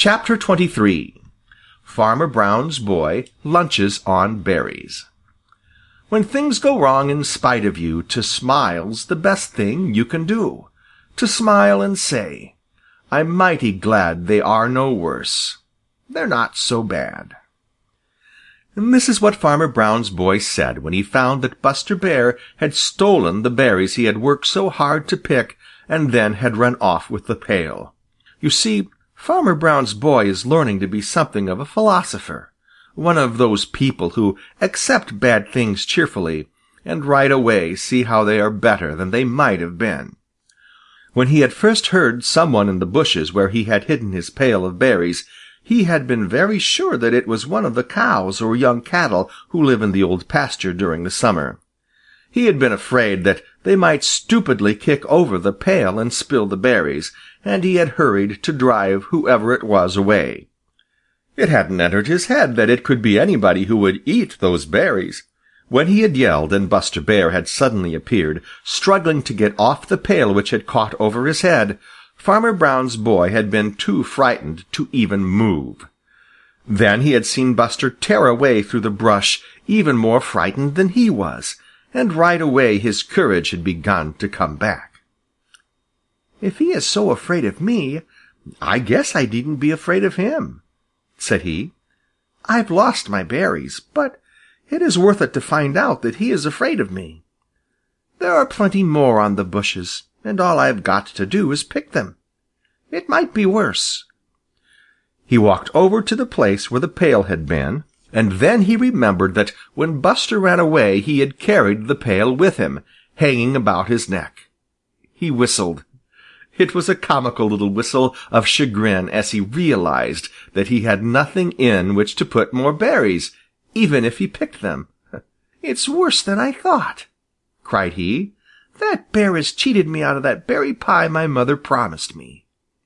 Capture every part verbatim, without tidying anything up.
Chapter twenty-three. Farmer Brown's Boy Lunches on Berries. When things go wrong in spite of you, to smile's the best thing you can do. To smile and say, I'm mighty glad they are no worse. They're not so bad. And this is what Farmer Brown's boy said when he found that Buster Bear had stolen the berries he had worked so hard to pick and then had run off with the pail. You see, Farmer Brown's boy is learning to be something of a philosopher, one of those people who accept bad things cheerfully and right away see how they are better than they might have been. When he had first heard someone in the bushes where he had hidden his pail of berries, he had been very sure that it was one of the cows or young cattle who live in the Old Pasture during the summer. He had been afraid that they might stupidly kick over the pail and spill the berries, and he had hurried to drive whoever it was away. It hadn't entered his head that it could be anybody who would eat those berries. When he had yelled and Buster Bear had suddenly appeared, struggling to get off the pail which had caught over his head, Farmer Brown's boy had been too frightened to even move. Then he had seen Buster tear away through the brush, even more frightened than he was, and right away his courage had begun to come back. "If he is so afraid of me, I guess I needn't be afraid of him," said he. "I've lost my berries, but it is worth it to find out that he is afraid of me. There are plenty more on the bushes, and all I've got to do is pick them. It might be worse." He walked over to the place where the pail had been, and then he remembered that when Buster ran away he had carried the pail with him, hanging about his neck. He whistled. It was a comical little whistle of chagrin as he realized that he had nothing in which to put more berries, even if he picked them. "It's worse than I thought," cried he. "That bear has cheated me out of that berry pie my mother promised me."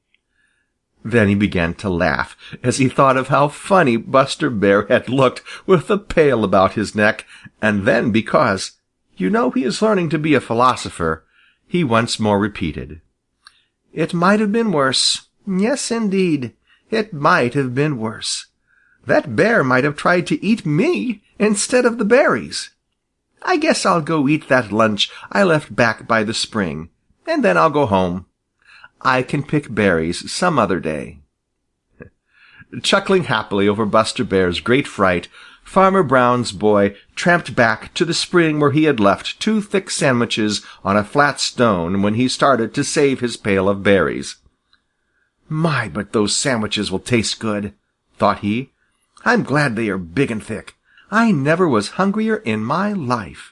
Then he began to laugh as he thought of how funny Buster Bear had looked with the pail about his neck, and then because, you know, he is learning to be a philosopher, he once more repeated, "It might have been worse. Yes, indeed, it might have been worse. That bear might have tried to eat me instead of the berries. I guess I'll go eat that lunch I left back by the spring, and then I'll go home. I can pick berries some other day." Chuckling happily over Buster Bear's great fright, Farmer Brown's boy tramped back to the spring where he had left two thick sandwiches on a flat stone when he started to save his pail of berries. "My, but those sandwiches will taste good," thought he. "I'm glad they are big and thick. I never was hungrier in my life.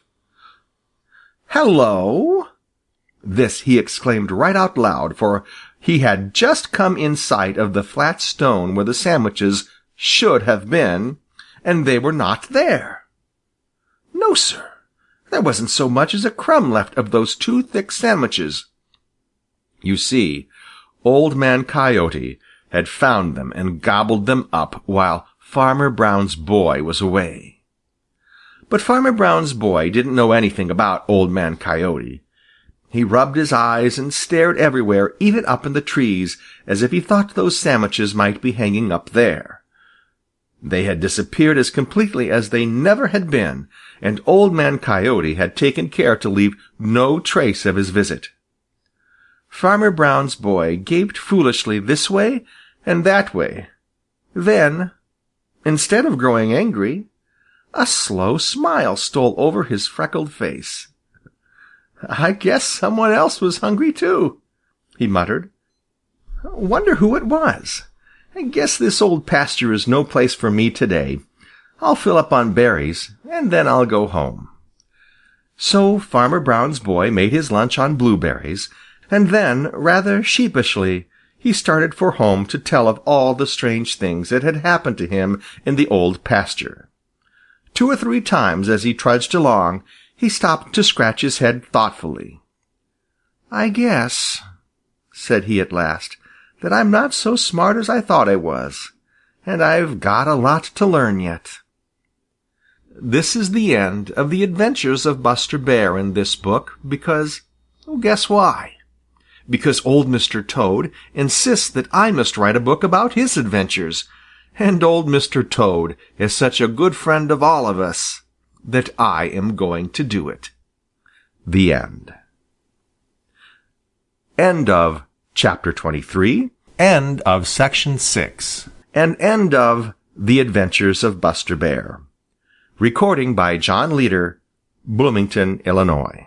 Hello!" This he exclaimed right out loud, for he had just come in sight of the flat stone where the sandwiches should have been, and they were not there. No, sir, there wasn't so much as a crumb left of those two thick sandwiches. You see, Old Man Coyote had found them and gobbled them up while Farmer Brown's boy was away. But Farmer Brown's boy didn't know anything about Old Man Coyote. He rubbed his eyes and stared everywhere, even up in the trees, as if he thought those sandwiches might be hanging up there. They had disappeared as completely as they never had been, and Old Man Coyote had taken care to leave no trace of his visit. Farmer Brown's boy gaped foolishly this way and that way. Then, instead of growing angry, a slow smile stole over his freckled face. "I guess someone else was hungry too," he muttered. "Wonder who it was. I guess this Old Pasture is no place for me today. I'll fill up on berries, and then I'll go home." So Farmer Brown's boy made his lunch on blueberries, and then, rather sheepishly, he started for home to tell of all the strange things that had happened to him in the Old Pasture. Two or three times as he trudged along, he stopped to scratch his head thoughtfully. "I guess," said he at last, "that I'm not so smart as I thought I was, and I've got a lot to learn yet." This is the end of the adventures of Buster Bear in this book, because, oh, guess why? because old Mister Toad insists that I must write a book about his adventures, and old Mister Toad is such a good friend of all of us that I am going to do it. The end. End of Chapter twenty-three. End of Section six. And end of The Adventures of Buster Bear. Recording by John Leader, Bloomington, Illinois.